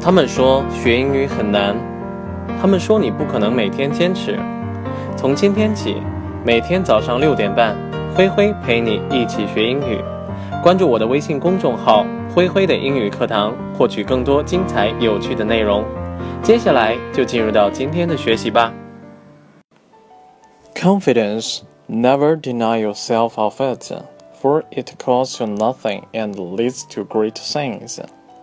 他们说学英语很难，他们说你不可能每天坚持。从今天起，每天早上6点半，灰灰陪你一起学英语。关注我的微信公众号“灰灰的英语课堂”，获取更多精彩有趣的内容。接下来就进入到今天的学习吧。 Confidence, never deny yourself of it, for it costs you nothing and leads to great things.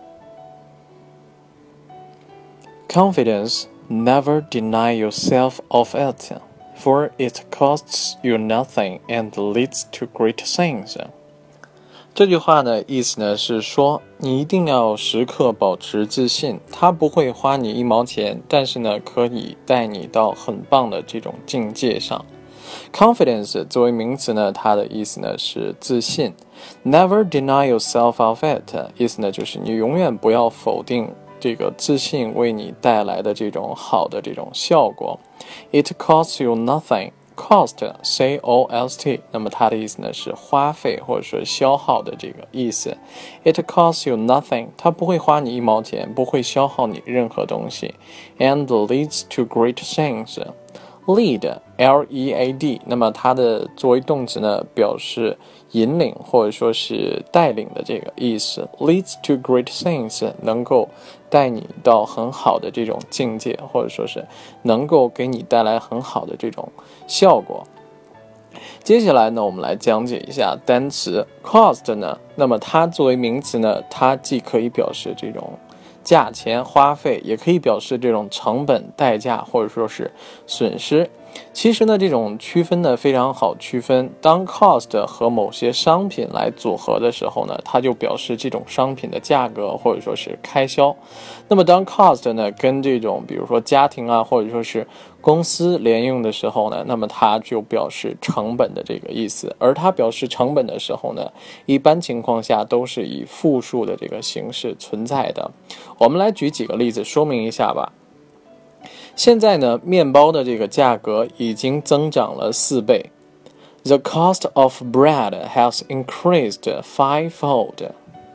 Confidence, never deny yourself of it, for it costs you nothing and leads to great things. 这句话呢，意思呢是说，你一定要时刻保持自信，它不会花你1毛钱，但是呢，可以带你到很棒的这种境界上。Confidence 作为名词呢，它的意思呢是自信。Never deny yourself of it， 意思呢就是你永远不要否定这个自信为你带来的这种好的这种效果。It costs you nothing。Cost, C-O-S-T， 那么它的意思呢是花费或者说消耗的这个意思。It costs you nothing， 它不会花你1毛钱，不会消耗你任何东西。And leads to great things。Lead, L-E-A-D， 那么它的作为动词呢，表示引领或者说是带领的这个意思。Leads to great things， 能够带你到很好的这种境界，或者说是能够给你带来很好的这种效果。接下来呢，我们来讲解一下单词 cost 呢，那么它作为名词呢，它既可以表示这种价钱花费，也可以表示这种成本代价或者说是损失。其实呢，这种区分呢非常好区分。当 cost 和某些商品来组合的时候呢，它就表示这种商品的价格或者说是开销。那么当 cost 呢跟这种比如说家庭啊或者说是公司连用的时候呢，那么它就表示成本的这个意思。而它表示成本的时候呢，一般情况下都是以复数的这个形式存在的。我们来举几个例子说明一下吧。现在呢，面包的这个价格已经增长了4倍。The cost of bread has increased fivefold.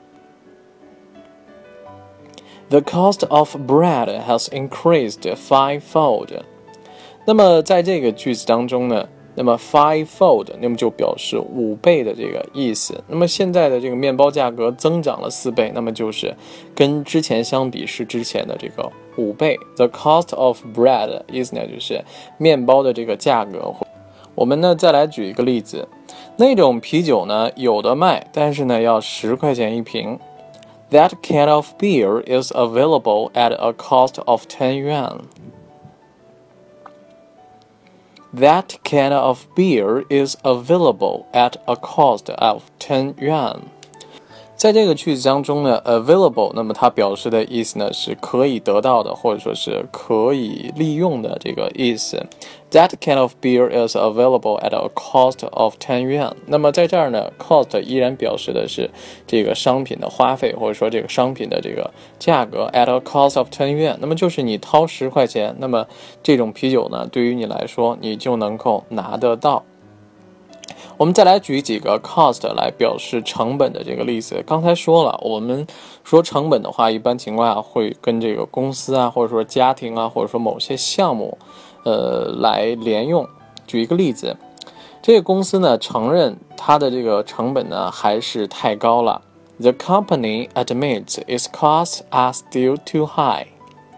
The cost of bread has increased fivefold. 那么在这个句子当中呢，那么 fivefold 那么就表示5倍的这个意思。那么现在的这个面包价格增长了4倍，那么就是跟之前相比是之前的这个5倍。The cost of bread 意思呢就是面包的这个价格。我们呢再来举一个例子，那种啤酒呢有的卖，但是呢要10块钱一瓶。That can of beer is available at a cost of 10 yuan.That can of beer is available at a cost of 10 yuan. 在这个句子当中呢 available 那么它表示的意思呢是可以得到的或者说是可以利用的这个意思。That can of beer is available at a cost of 10 yuan. 那么在这儿呢 cost 依然表示的是这个商品的花费或者说这个商品的这个价格 at a cost of 10 yuan. 那么就是你掏10块钱，那么这种啤酒呢对于你来说你就能够拿得到。我们再来举几个 cost 来表示成本的这个例子。刚才说了，我们说成本的话，一般情况下会跟这个公司啊，或者说家庭啊，或者说某些项目，来连用。举一个例子，这个公司呢承认它的这个成本呢还是太高了。The company admits its costs are still too high.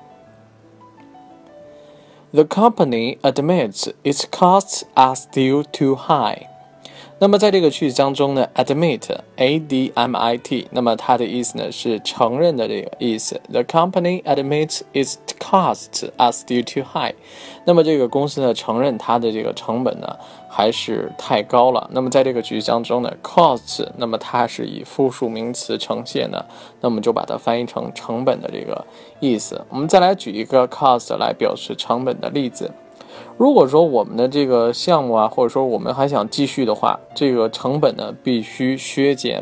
The company admits its costs are still too high.那么在这个句子当中呢 admit A-D-M-I-T 那么它的意思呢是承认的这个意思。 The company admits its costs are still too high. 那么这个公司呢承认它的这个成本呢还是太高了。那么在这个句子当中呢 costs 那么它是以复数名词呈现的，那么就把它翻译成成本的这个意思。我们再来举一个 cost 来表示成本的例子。如果说我们的这个项目啊，或者说我们还想继续的话，这个成本呢必须削减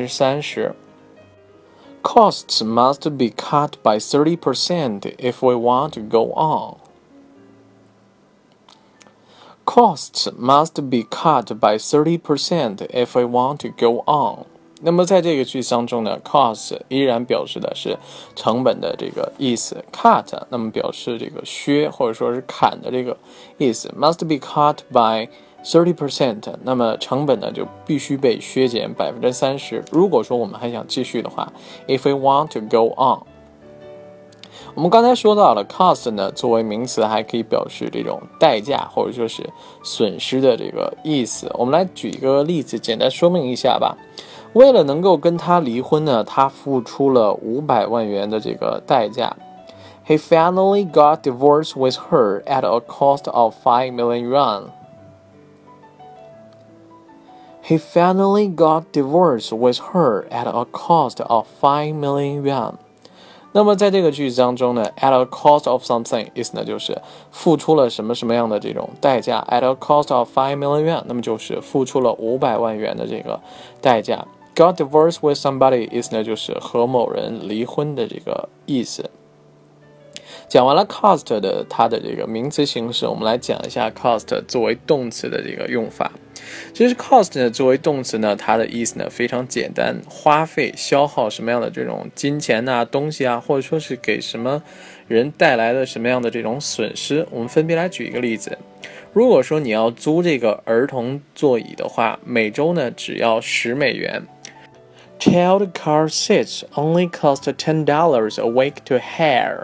30%。Costs must be cut by 30% if we want to go on. Costs must be cut by 30% if we want to go on. 那么在这个句子当中呢 cost 依然表示的是成本的这个意思 cut 那么表示这个削或者说是砍的这个意思 must be cut by 30%， 那么成本呢就必须被削减 30%。 如果说我们还想继续的话 if we want to go on。 我们刚才说到了 cost 呢作为名词还可以表示这种代价或者说是损失的这个意思。我们来举一个例子简单说明一下吧。为了能够跟他离婚呢，他付出了500万元的这个代价。He finally got divorced with her at a cost of 5 million yuan. He finally got divorced with her at a cost of 5 million yuan. 那么在这个句子当中呢 at a cost of something 意思呢就是付出了什么什么样的这种代价 at a cost of 5 million yuan 那么就是付出了500万元的这个代价。 got divorced with somebody 意思呢就是和某人离婚的这个意思。讲完了 cost 的它的这个名词形式，我们来讲一下 cost 作为动词的这个用法。其实 cost 呢作为动词呢，它的意思呢非常简单，花费消耗什么样的这种金钱啊东西啊，或者说是给什么人带来了什么样的这种损失。我们分别来举一个例子。如果说你要租这个儿童座椅的话，每周呢只要10美元。Child car seats only cost $10 a week to hire.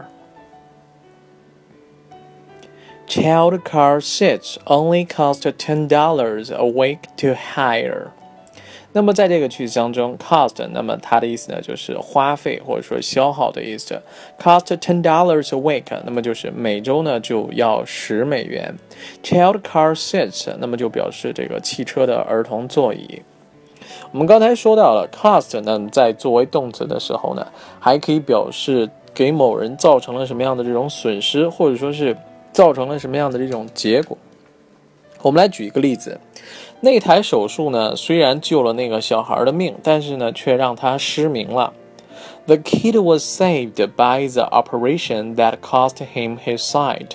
Child car seats only cost $10 a week to hire. 那么在这个句子当中 cost 那么它的意思呢就是花费或者说消耗的意思。cost $10 a week 那么就是每周呢就要10美元。Child car seats 那么就表示这个汽车的儿童座椅。我们刚才说到了 cost 呢在作为动词的时候呢还可以表示给某人造成了什么样的这种损失，或者说是造成了什么样的这种结果。我们来举一个例子。那台手术呢虽然救了那个小孩的命，但是呢却让他失明了。 The kid was saved by the operation that cost him his sight.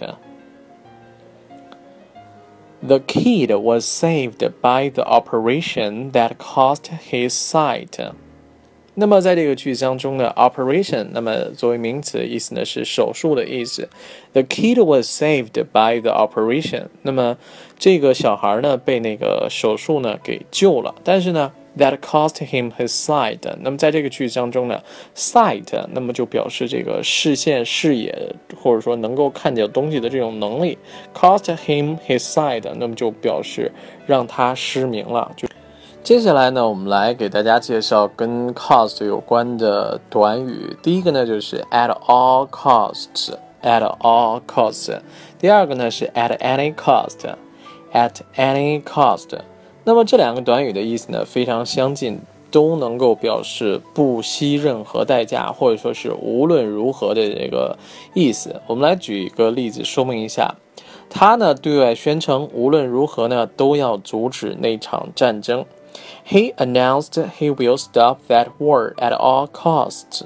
The kid was saved by the operation that cost his sight. 那么在这个句子当中的 operation 那么作为名词意思呢是手术的意思。 The kid was saved by the operation 那么这个小孩呢被那个手术呢给救了，但是呢 that cost him his sight 那么在这个句子当中呢 sight 那么就表示这个视线视野或者说能够看见东西的这种能力。 cost him his sight 那么就表示让他失明了。接下来呢我们来给大家介绍跟 cost 有关的短语。第一个呢就是 at all costs at all costs。 第二个呢是 at any cost at any cost。 那么这两个短语的意思呢非常相近，都能够表示不惜任何代价或者说是无论如何的这个意思。我们来举一个例子说明一下。他呢对外宣称无论如何呢都要阻止那场战争。He announced he will stop that war at all costs.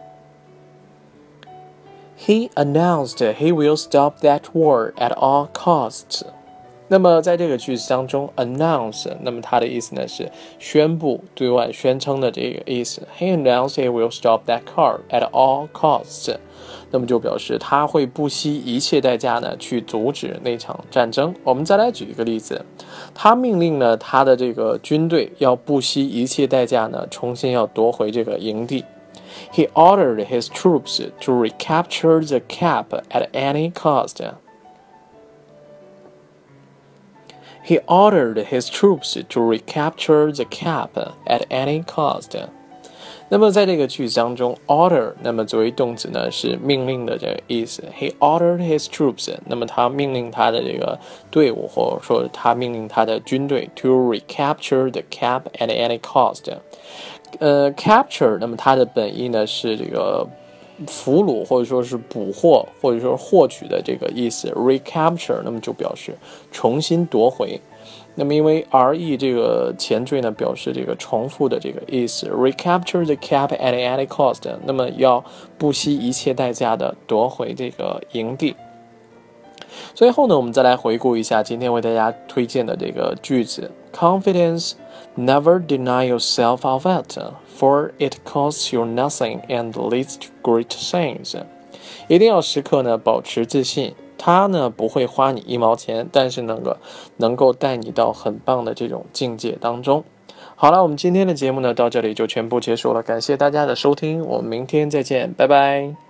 He announced he will stop that war at all costs. 那么在这个句子当中 announce 那么它的意思呢是宣布对外宣称的这个意思。 He announced he will stop that war at all costs。 那么就表示他会不惜一切代价呢去阻止那场战争。我们再来举一个例子。他命令呢他的这个军队要不惜一切代价呢重新要夺回这个营地。 He ordered his troops to recapture the cap at any cost. He ordered his troops to recapture the cap at any cost. 那么在这个句子当中 order 那么作为动词呢是命令的这个意思。 He ordered his troops 那么他命令他的这个队伍或者说他命令他的军队 to recapture the cap at any cost。 capture 那么它的本意呢是这个俘虏或者说是捕获或者说获取的这个意思。 recapture 那么就表示重新夺回。那么因为 re 这个前缀呢表示这个重复的这个意思。 recapture the cap at any cost 那么要不惜一切代价的夺回这个营地。最后呢我们再来回顾一下今天为大家推荐的这个句子。Confidence Never deny yourself of it, for it costs you nothing and leads to great things. 一定要时刻呢保持自信，它呢不会花你1毛钱，但是能够带你到很棒的这种境界当中。好了，我们今天的节目呢到这里就全部结束了，感谢大家的收听，我们明天再见，拜拜。